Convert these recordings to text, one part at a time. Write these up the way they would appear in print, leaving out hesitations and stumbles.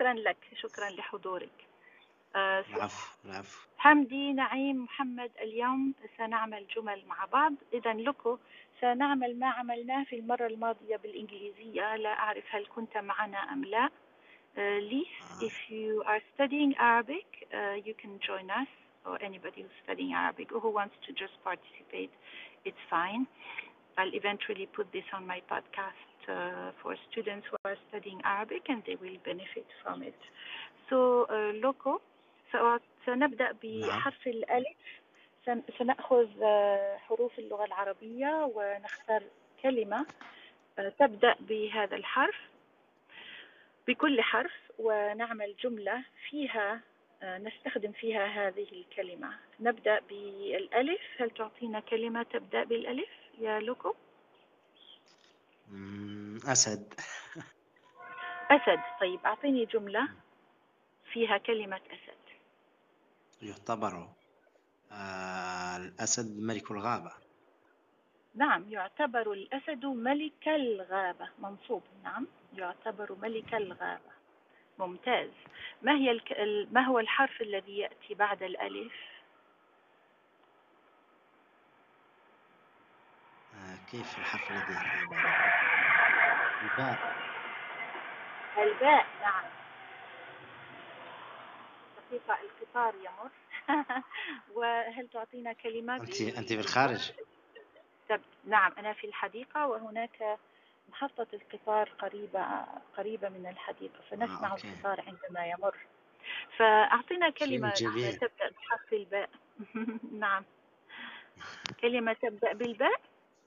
شكرا لك، شكرا لحضورك. العفو العفو. حمدي، نعيم، محمد، اليوم سنعمل جمل مع بعض. إذا لكم سنعمل ما عملناه في المرة الماضية بالإنجليزية. لا أعرف هل كنت معنا أم لا. Lise, if you are studying Arabic, you can join us, or anybody who's studying Arabic or who wants to just participate, it's fine. I'll eventually put this on my podcast for students who are studying Arabic, and they will benefit from it. So, Loco, سنبدأ بحرف الألف. سنأخذ حروف اللغة العربية ونختار كلمة تبدأ بهذا الحرف، بكل حرف، ونعمل جملة فيها نستخدم فيها هذه الكلمة. نبدأ بالألف. هل تعطينا كلمة تبدأ بالألف يا لوكو؟ أسد. أسد. طيب أعطيني جملة فيها كلمة أسد. يعتبر الأسد ملك الغابة. نعم، يعتبر الأسد ملك الغابة. منصوب. نعم، يعتبر ملك الغابة. ممتاز. ما هو الحرف الذي يأتي بعد الألف؟ كيف الحرف الذي يأتي بعد الباء؟ الباء. نعم. دقيقة، القطار يمر. وهل تعطينا كلمات؟ أنت بالخارج؟ نعم، أنا في الحديقة، وهناك محطة القطار قريبة من الحديقة، فنسمع القطار عندما يمر. فأعطينا كلمة تبدأ بحرف الباء. نعم، كلمة تبدأ بالباء.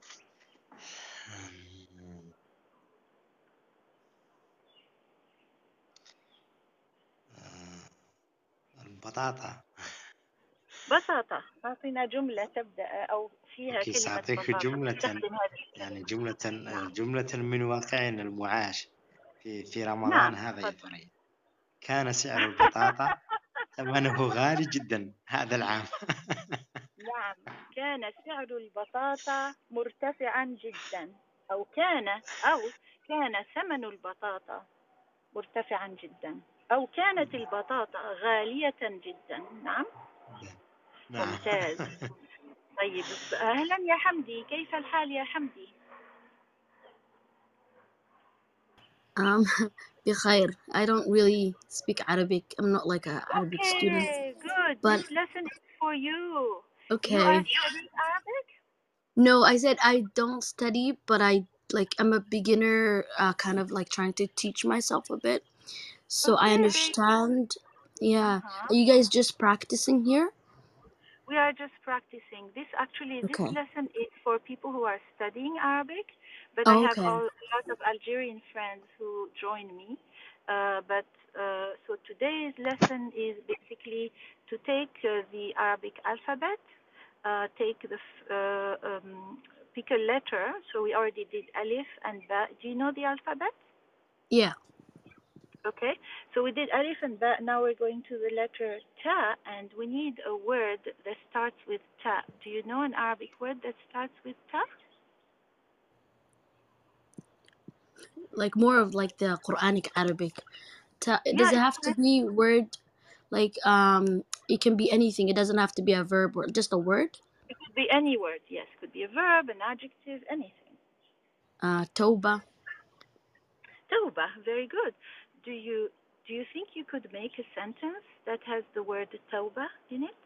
البطاطا. بساطة. أعطينا جملة تبدأ أو فيها كلمة سأعطيك جملة، يعني جملة من واقعنا المعاش في رمضان. نعم. هذا يا ثريا، كان سعر البطاطا ثمنه غالي جدا هذا العام. نعم، كان سعر البطاطا مرتفعا جدا، أو كان ثمن البطاطا مرتفعا جدا، أو كانت البطاطا غالية جدا. نعم. ممتاز. طيب أهلا يا حمدي، كيف الحال يا حمدي؟ بخير. I don't really speak Arabic. I'm not like an Arabic student. Good. But this lesson is for you. Okay. You are studying Arabic? No, I said I don't study, but I'm a beginner, kind of like trying to teach myself a bit. So I understand. Yeah. Are you guys just practicing here? We are just practicing. This lesson is for people who are studying Arabic, but I have a lot of Algerian friends who join me. So today's lesson is basically to take the Arabic alphabet, pick a letter. So we already did alif and ba. Do you know the alphabet? Yeah. Okay, so we did alif and ba. Now we're going to the letter ta, and we need a word that starts with ta. Do you know an Arabic word that starts with ta? Like more of like the Quranic Arabic. Ta, does it have to be word? Like it can be anything. It doesn't have to be a verb or just a word. It could be any word. Yes, could be a verb, an adjective, anything. Tawbah. Tawbah. Very good. Do you think you could make a sentence that has the word tawbah in it?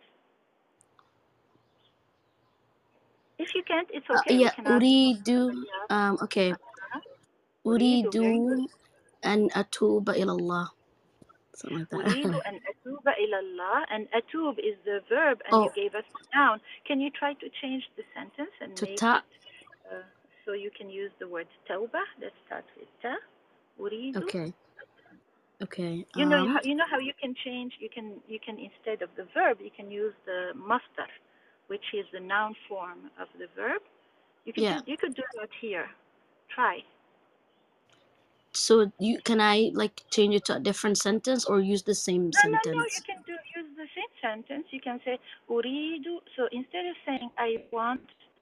If you can't, it's okay. Yeah, uridu. Okay. Uridu an atuba ila Allah. Something like that. Uridu an atuba ila Allah, and atub is the verb, and you gave us the noun. Can you try to change the sentence and make it so you can use the word tawbah that starts with ta? Uridu. Okay. You know how you can change. You can instead of the verb, you can use the masdar, which is the noun form of the verb. You could do that here. Try. So can I like change it to a different sentence or use the same sentence? No. You can use the same sentence. You can say uridu. So instead of saying I want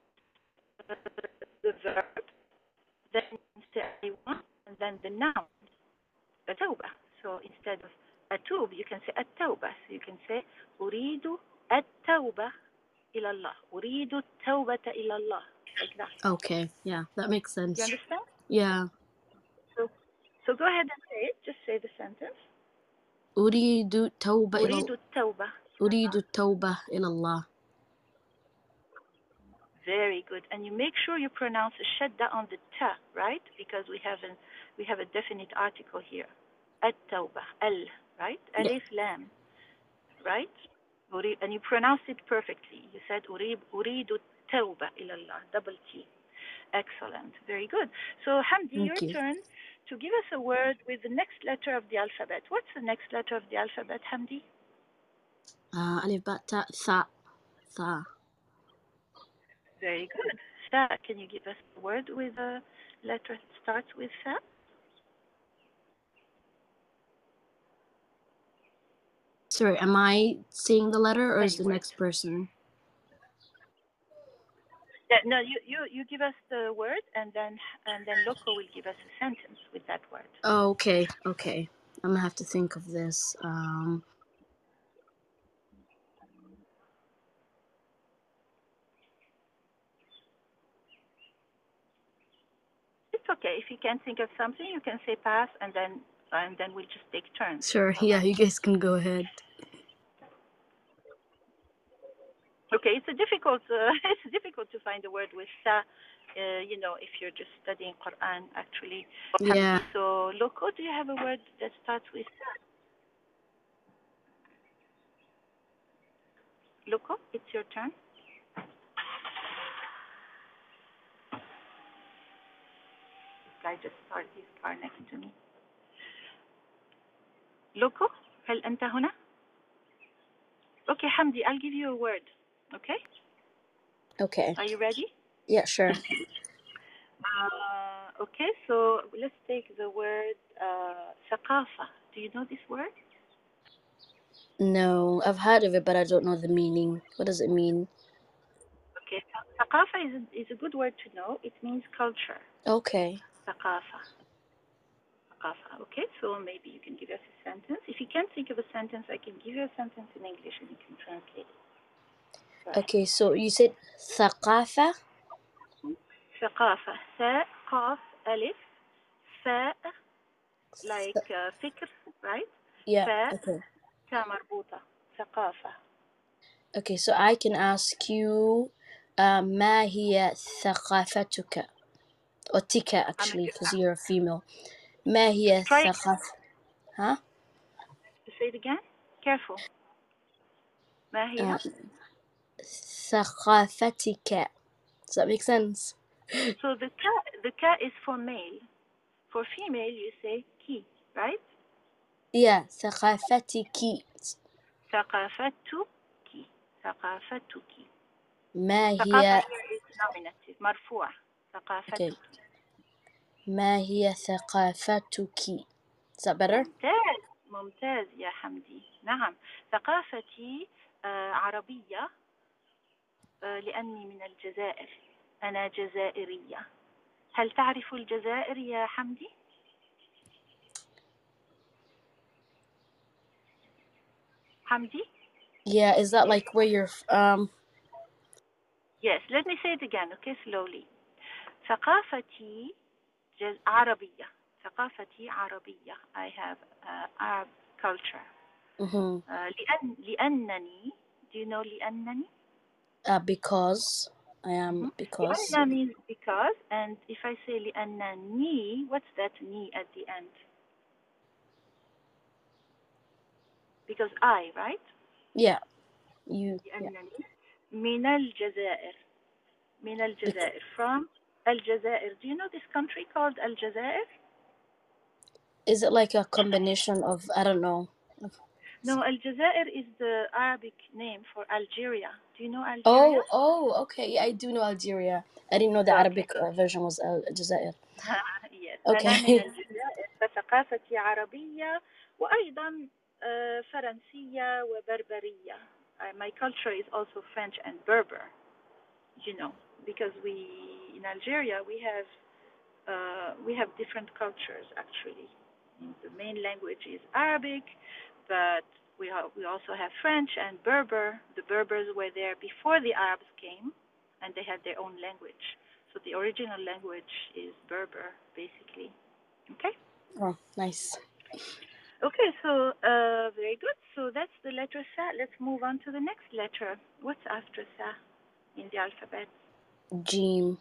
the verb, then say I want, and then the noun, tawbah. So instead of أتوب, you can say التوبة. So you can say أريد التوبة إلى الله. أريد التوبة إلى الله. Like that. Okay, yeah, that makes sense. You understand? Yeah. So go ahead and say it. Just say the sentence. أريد التوبة إلى أريد التوبة. أريد التوبة إلى الله. Very good. And you make sure you pronounce the shadda on the ta, right? Because we have a definite article here. التوبة. Al, right? Yeah. Alif lam, right? And you pronounced it perfectly. You said أريد التوبة إلى الله. Double T. Excellent. Very good. So Hamdi, Thank your you. turn to give us a word with the next letter of the alphabet. What's the next letter of the alphabet, Hamdi? ألف باء تاء ثاء. ثاء. Very good. Sa, can you give us a word with a letter that starts with Sa? Sorry, am I saying the letter or is Any the word. next person? No, you give us the word, and then Loco will give us a sentence with that word. Oh, okay. I'm gonna have to think of this. It's okay. If you can't think of something, you can say pass, and then we'll just take turns. Sure. Yeah, you guys can go ahead. Okay, it's difficult to find a word with Sa, if you're just studying Quran, actually. Yeah. So, Loco, do you have a word that starts with Sa? Loco, it's your turn. This guy just started his car next to me. Loco, هل أنت هنا? Okay, Hamdi, I'll give you a word. Okay? Okay. Are you ready? Yeah, sure. Okay, so let's take the word ثقافة. Do you know this word? No, I've heard of it, but I don't know the meaning. What does it mean? Okay, ثقافة is a good word to know. It means culture. Okay. ثقافة. Okay, so maybe you can give us a sentence. If you can't think of a sentence, I can give you a sentence in English and you can translate it. Okay, so you said ثقافة? ثقافة. ثاء قاف ألف فاء like فكر, right? Yeah. فاء Okay. تاء مربوطة. ثقافة. Okay, so I can ask you, ما هي ثقافتك? Or tika, actually, because you're a female. ما هي Try ثقافة? Huh? say it again. Careful. ما هي? ثقافتك. Does that make sense? So the ka is for male. For female, you say ki, right? Yeah, ثقافتك. ثقافتك. ثقافتك. ما ثقافة هي here is nominative. مرفوع. ثقافتك. Okay. ما هي ثقافتك? Is that better? ممتاز يا حمدي. نعم. ثقافتي عربية لأني من الجزائر. أنا جزائرية. هل تعرف الجزائر يا حمدي؟ حمدي? Yeah, is that like where you're Yes, let me say it again, okay, slowly. ثقافتي عربية. ثقافتي عربية. I have Arab culture. لأنني, do you know لأنني? Because I am because. لأن means because, and if I say لأنني, what's that ni at the end? Because I, right? Yeah. You. لأنني من الجزائر. من الجزائر. From الجزائر. Do you know this country called Aljazair? Is it like a combination of, I don't know? No, Aljazair is the Arabic name for Algeria. Do you know Algeria? Oh, okay. Yeah, I do know Algeria. I didn't know the Arabic version was Aljazair. Yes. Okay. أنا من الجزائر فثقافتي عربية وأيضا فرنسية وبربرية. My culture is also French and Berber, because in Algeria we have different cultures actually. The main language is Arabic, but we also have French and Berber. The Berbers were there before the Arabs came, and they had their own language. So the original language is Berber, basically. Okay? Oh, nice. Okay, so very good. So that's the letter Sa. Let's move on to the next letter. What's after Sa in the alphabet? Jim.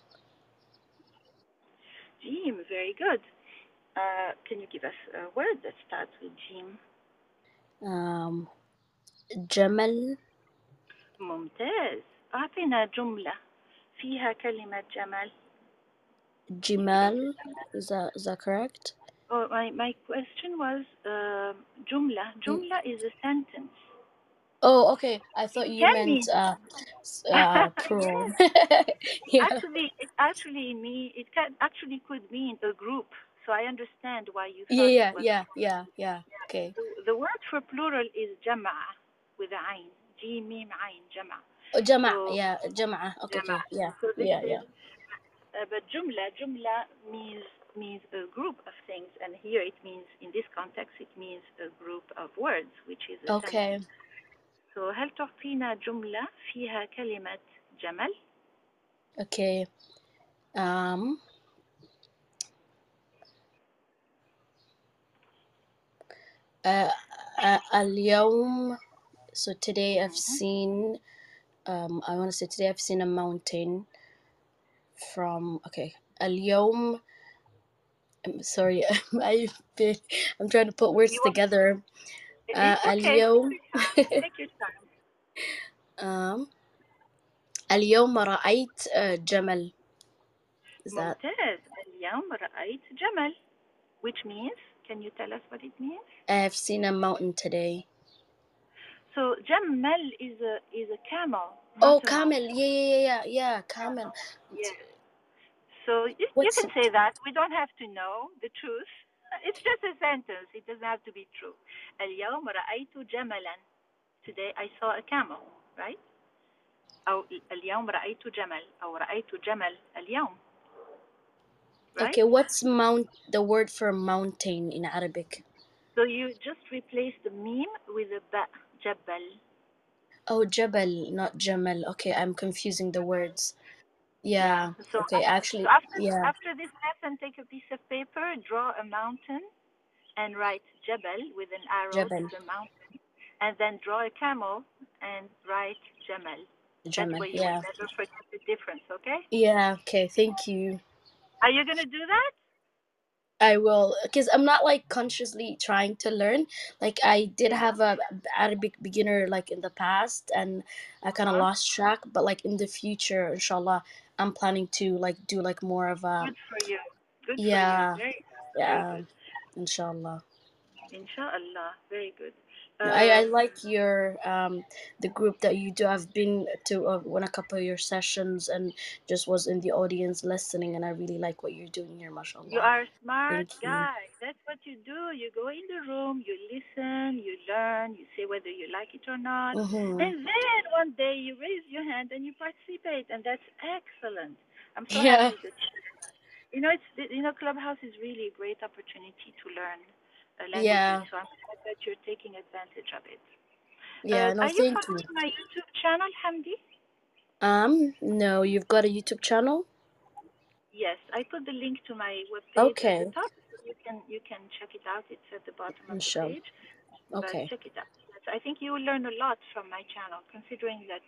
Jim, very good. Can you give us a word that starts with Jim? جمل. ممتاز. أعطينا جملة فيها كلمة جمل. جمال. Is that correct? Oh, my question was جملة. جملة is a sentence. Oh, okay. I thought you Can meant plural. Yeah. Yeah. It could mean a group. So I understand why you thought Yeah. it was. Yeah. Okay. The word for plural is جمع with a عين. جيم ميم عين جمع. جمع. So, Yeah. جمع. Okay. Yeah. So this Yeah. is, but jumla means a group of things, and here it means, in this context, it means a group of words, which is a Okay. sentence. So هل تعطينا جملة فيها كلمة جمل؟ Okay. اليوم. So today I've seen. I want to say today I've seen a mountain. اليوم. I'm sorry. I'm trying to put words together. It's okay. اليوم. Take your time. اليوم رأيت جمل. Is that? ممتاز. اليوم رأيت جمل. Which means, can you tell us what it means? I've seen a mountain today. So جمل is a camel. Oh, camel. Yeah, camel. Yeah. So you can say that. We don't have to know the truth. It's just a sentence. It doesn't have to be true. اليوم رأيت جملا. Today I saw a camel, right? أو اليوم رأيت جمل أو رأيت جمل اليوم. Right? Okay, what's the word for mountain in Arabic? So you just replace the meme with a ba, جبل. Oh, jabal, not jamal. Okay, I'm confusing the words. Yeah. So Okay, actually, after this lesson, take a piece of paper, draw a mountain, and write jabal with an arrow to the mountain, and then draw a camel and write jamal. Jamal. That way you will never forget the difference, okay? Yeah, okay, thank you. Are you going to do that? I will, because I'm not like consciously trying to learn. Like I did have a Arabic beginner like in the past, and I kind of lost track. But like in the future, inshallah, I'm planning to like do like more of a. Good for you. Good for you. Very good. Inshallah. Inshallah. Very good. I like your the group that you do. I've been to one a couple of your sessions and just was in the audience listening, and I really like what you're doing here, mashallah. You are a smart guy. That's what you do. You go in the room, you listen, you learn, you say whether you like it or not, and then one day you raise your hand and you participate, and that's excellent. I'm so happy that Clubhouse is really a great opportunity to learn languages. So I'm glad that you're taking advantage of it. Are you following my YouTube channel, Hamdi? No, you've got a YouTube channel? Yes, I put the link to my webpage at the top. You can check it out. It's at the bottom of the page. Okay. But check it out. I think you will learn a lot from my channel, considering that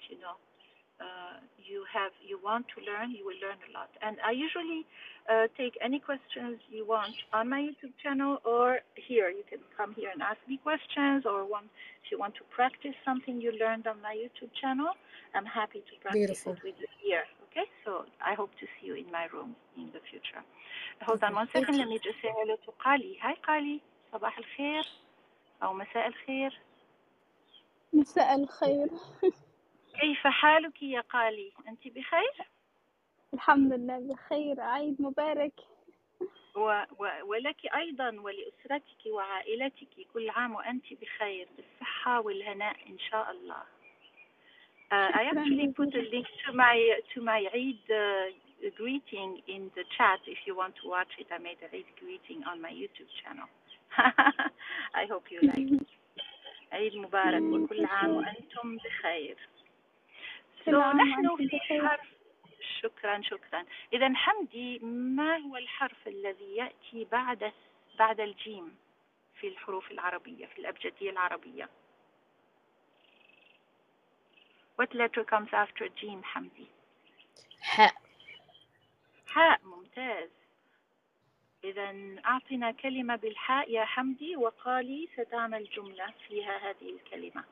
you want to learn. You will learn a lot. And I usually take any questions you want on my YouTube channel or here. You can come here and ask me questions, or if you want to practice something you learned on my YouTube channel, I'm happy to practice it with you here. Okay, so I hope to see you in my room in the future. Hold on one second. Let me just say hello to Qali. Hi Qali. صباح الخير أو مساء الخير. مساء الخير. كيف حالك يا قالي؟ أنت بخير؟ الحمد لله بخير. عيد مبارك. ولك أيضا ولأسرتك وعائلتك كل عام وأنت بخير بالصحة والهناء إن شاء الله. I actually put a link to my Eid greeting in the chat if you want to watch it. I made a Eid greeting on my YouTube channel. I hope you like it. عيد مبارك وكل عام وأنتم بخير. كل عام نحن وأنتم في بخير. حرف. شكرا. إذا حمدي، ما هو الحرف الذي يأتي بعد الجيم في الحروف العربية، في الأبجدية العربية؟ What letter comes after جيم حمدي؟ حاء. حاء. ممتاز. إذا أعطنا كلمة بالحاء يا حمدي، وقالي ستعمل جملة فيها هذه الكلمة.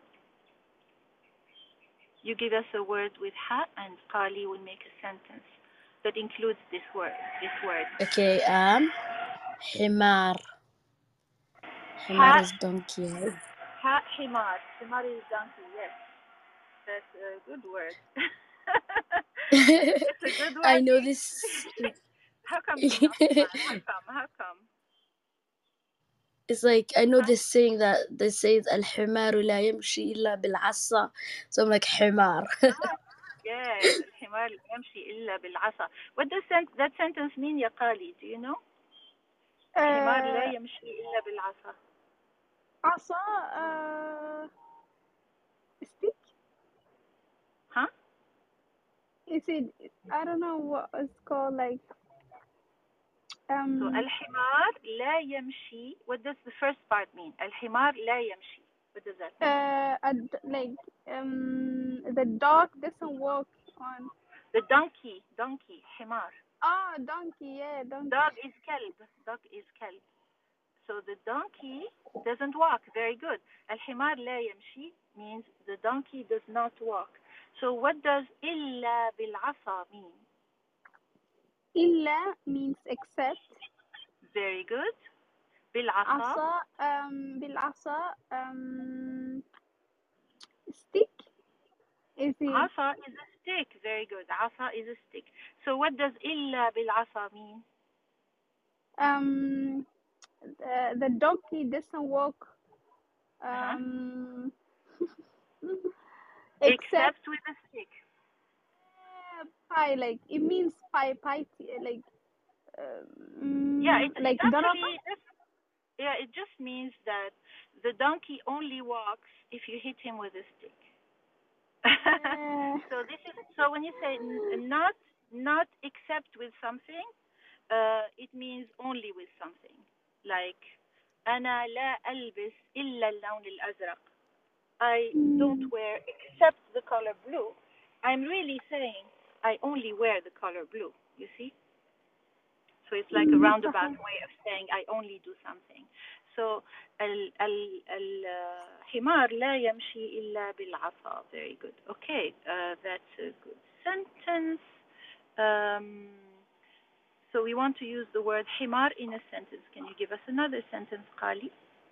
You give us a word with حاء and قالي will make a sentence that includes this word. Okay, حمار. حمار is donkey. حاء حمار. حمار is donkey. Yes, that's a good word. It's a good word. I know this. How come you know حمار? How come? It's like I know this saying that they say الحمار لا يمشي إلا بالعصا, so I'm like حمار. Yes, الحمار لا يمشي إلا بالعصا. What does that sentence mean يا قالي? Do you know? الحمار لا يمشي إلا بالعصا. عصا stick. Huh? Is it? I don't know what it's called. Like So الحمار لا يمشي. What does the first part mean? الحمار لا يمشي. What does that mean? like the dog doesn't walk on. The donkey. حمار. Donkey. Yeah, donkey. Dog is كلب. So the donkey doesn't walk. Very good. الحمار لا يمشي means the donkey does not walk. So what does إلا بالعصا mean? إلا means except. Very good. بالعصا. بالعصا stick. Is it? عصا is a stick. Very good. عصا is a stick. So what does إلا بالعصا mean? The donkey doesn't walk. Except with a stick. Pie, like it means pie, like yeah, it like actually it just means that the donkey only walks if you hit him with a stick. So when you say not except with something, it means only with something. Like أنا لا ألبس إلا اللون الأزرق. I don't wear except the color blue. I'm really saying I only wear the color blue. You see? So it's like a roundabout way of saying I only do something. So الحمار لا يمشي إلا بالعصا. Very good. Okay, that's a good sentence. So we want to use the word حمار in a sentence. Can you give us another sentence, قالي?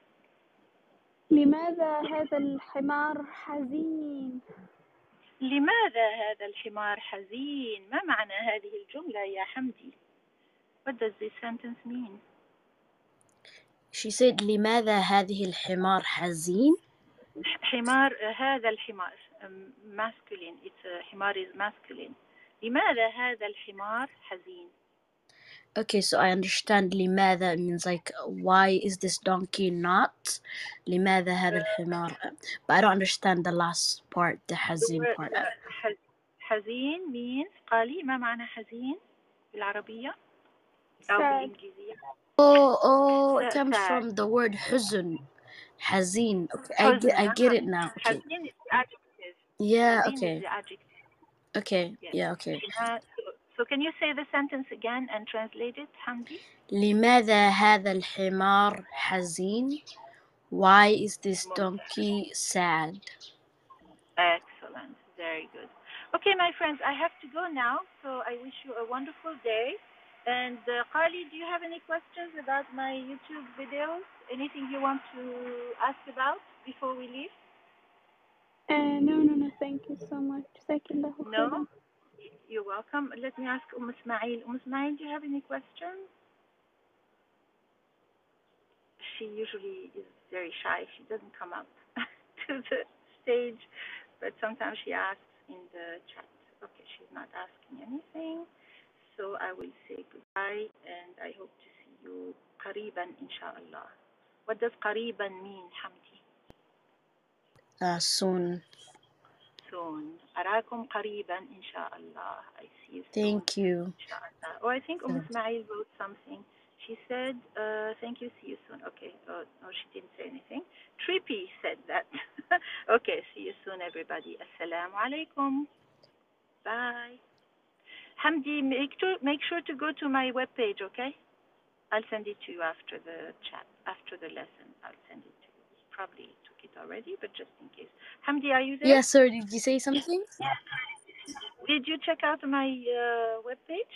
لماذا هذا الحمار حزين؟ لماذا هذا الحمار حزين؟ ما معنى هذه الجملة يا حمدي? What does this sentence mean? She said لماذا هذه الحمار حزين? حمار. هذا الحمار masculine. It's حمار is masculine. لماذا هذا الحمار حزين? Okay, so I understand لماذا means like why is this donkey not? لماذا هذا الحمار? But I don't understand the last part, the حزين part. حزين means قالي ما معنى حزين بالعربية أو بالإنجليزية؟ It comes from the word حزن. حزين. Okay, I get it now. Okay. حزين is the adjective. Yeah, حزين okay. is the adjective. Okay, Yes. yeah, okay. So can you say the sentence again and translate it, Hamdi? لماذا هذا الحمار حزين? Why is this donkey sad? Excellent. Very good. Okay, my friends, I have to go now, so I wish you a wonderful day. And Qali, do you have any questions about my YouTube videos? Anything you want to ask about before we leave? No, thank you so much. No? You're welcome. Let me ask Ismail. Ismail, do you have any questions? She usually is very shy. She doesn't come up to the stage, but sometimes she asks in the chat. Okay, she's not asking anything. So I will say goodbye, and I hope to see you قريبا إن شاء الله. What does قريبا mean, Hamdi? Soon. Soon. أراكم قريبا إن شاء الله. I see you soon. Thank you. إن شاء الله. Oh, I think Ismail wrote something. She said, thank you, see you soon. Okay. Oh, no, she didn't say anything. Trippy said that. Okay, see you soon, everybody. Assalamu alaikum. Bye. Hamdi, make sure to go to my webpage, okay? I'll send it to you after the chat, after the lesson. I'll send it to you. Probably took it already, but just in case. Hamdi, are you there? Yeah, sorry, did you say something? Did you check out my webpage?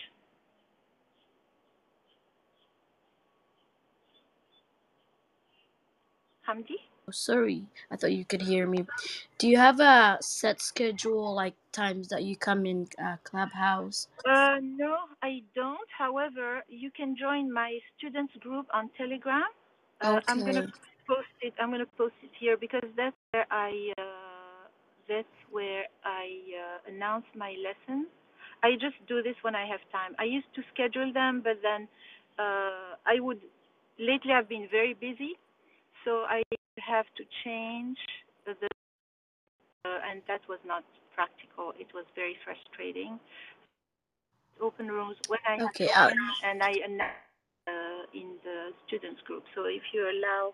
Hamdi? Oh, sorry, I thought you could hear me. Do you have a set schedule, like times that you come in Clubhouse? No, I don't. However, you can join my students group on Telegram. Okay. I'm gonna post it. I'm gonna post it here because that's where I announce my lessons. I just do this when I have time. I used to schedule them, but then lately I've been very busy, so I have to change and that was not practical. It was very frustrating. Open rooms when I Okay. and I announce in the students group. So if you allow,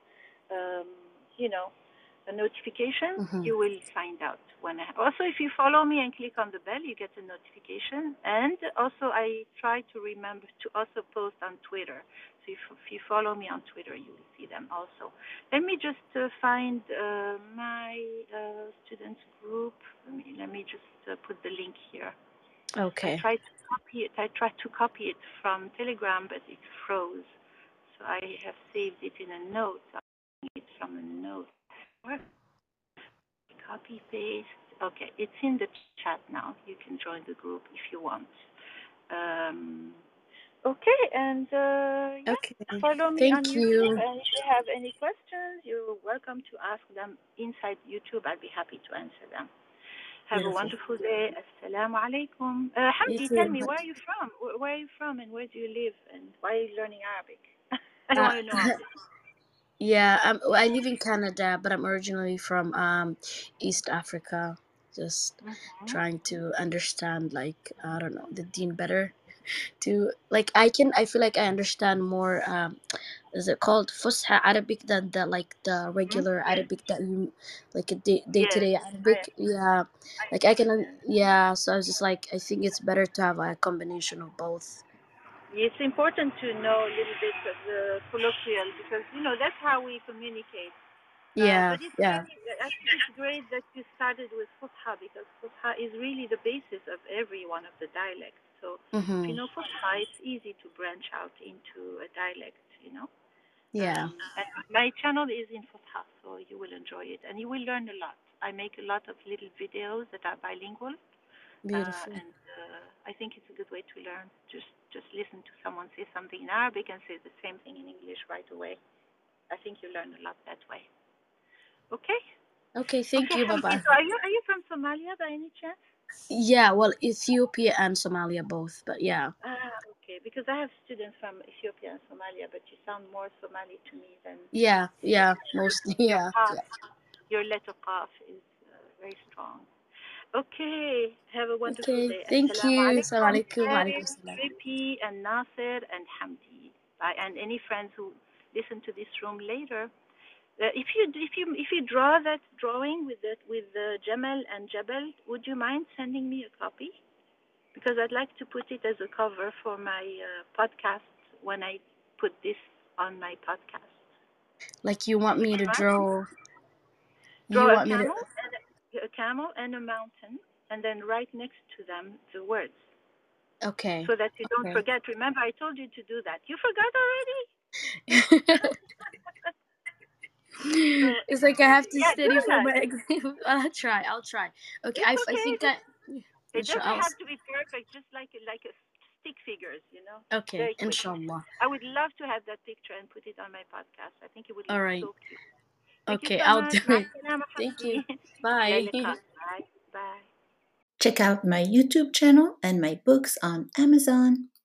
a notification, you will find out when also, if you follow me and click on the bell, you get a notification. And also, I try to remember to also post on Twitter. So if you follow me on Twitter, you will see them also. Let me just find my students group. Let me just put the link here. Okay. I tried to copy it from Telegram, but it froze. So I have saved it in a note. I'm it from a note. Copy paste. Okay, it's in the chat now. You can join the group if you want. Okay, and Okay. follow me Thank on you. YouTube. And if you have any questions, you're welcome to ask them inside YouTube. I'll be happy to answer them. Have a wonderful day. Assalamu alaikum. Hamdi, tell me, where are you from? Where are you from and where do you live? And why are you learning Arabic? I want to know all this. Yeah, I live in Canada, but I'm originally from East Africa. Just trying to understand, like, I don't know, the deen better. I feel like I understand more. Is it called Fusha Arabic than the regular Arabic that you like a day-to-day Arabic? Yeah, like I can. Yeah, so I was just like, I think it's better to have a combination of both. It's important to know a little bit of the colloquial because, that's how we communicate. Yeah, But yeah. I think it's great that you started with Fusha because Fusha is really the basis of every one of the dialects. So if you know Fusha, it's easy to branch out into a dialect, Yeah. And my channel is in Fusha, so you will enjoy it and you will learn a lot. I make a lot of little videos that are bilingual. Beautiful. And I think it's a good way to learn. Just listen to someone say something in Arabic and say the same thing in English right away. I think you learn a lot that way. Okay? Okay, thank you. Bye-bye. So are you from Somalia by any chance? Yeah, well, Ethiopia and Somalia both, but yeah. Okay, because I have students from Ethiopia and Somalia, but you sound more Somali to me than... Yeah, mostly, yeah. Your letter qaf is very strong. Okay, have a wonderful day. Thank you. Assalamu alaikum. alaikum. Ripi and Nasser and Hamdi. Bye. And any friends who listen to this room later. If you draw that drawing with the Jamal and Jabal, would you mind sending me a copy? Because I'd like to put it as a cover for my podcast when I put this on my podcast. Like you want me to draw? Draw a camel and a mountain, and then write next to them the words. Okay. So that you don't forget. Remember, I told you to do that. You forgot already? It's like I have to study for my exam. I'll try. Okay, I think that it doesn't have to be perfect. Just like a stick figures, Okay, inshallah. I would love to have that picture and put it on my podcast. I think it would look so cute. Okay, I'll do it. Thank you. Bye. Bye. Check out my YouTube channel and my books on Amazon.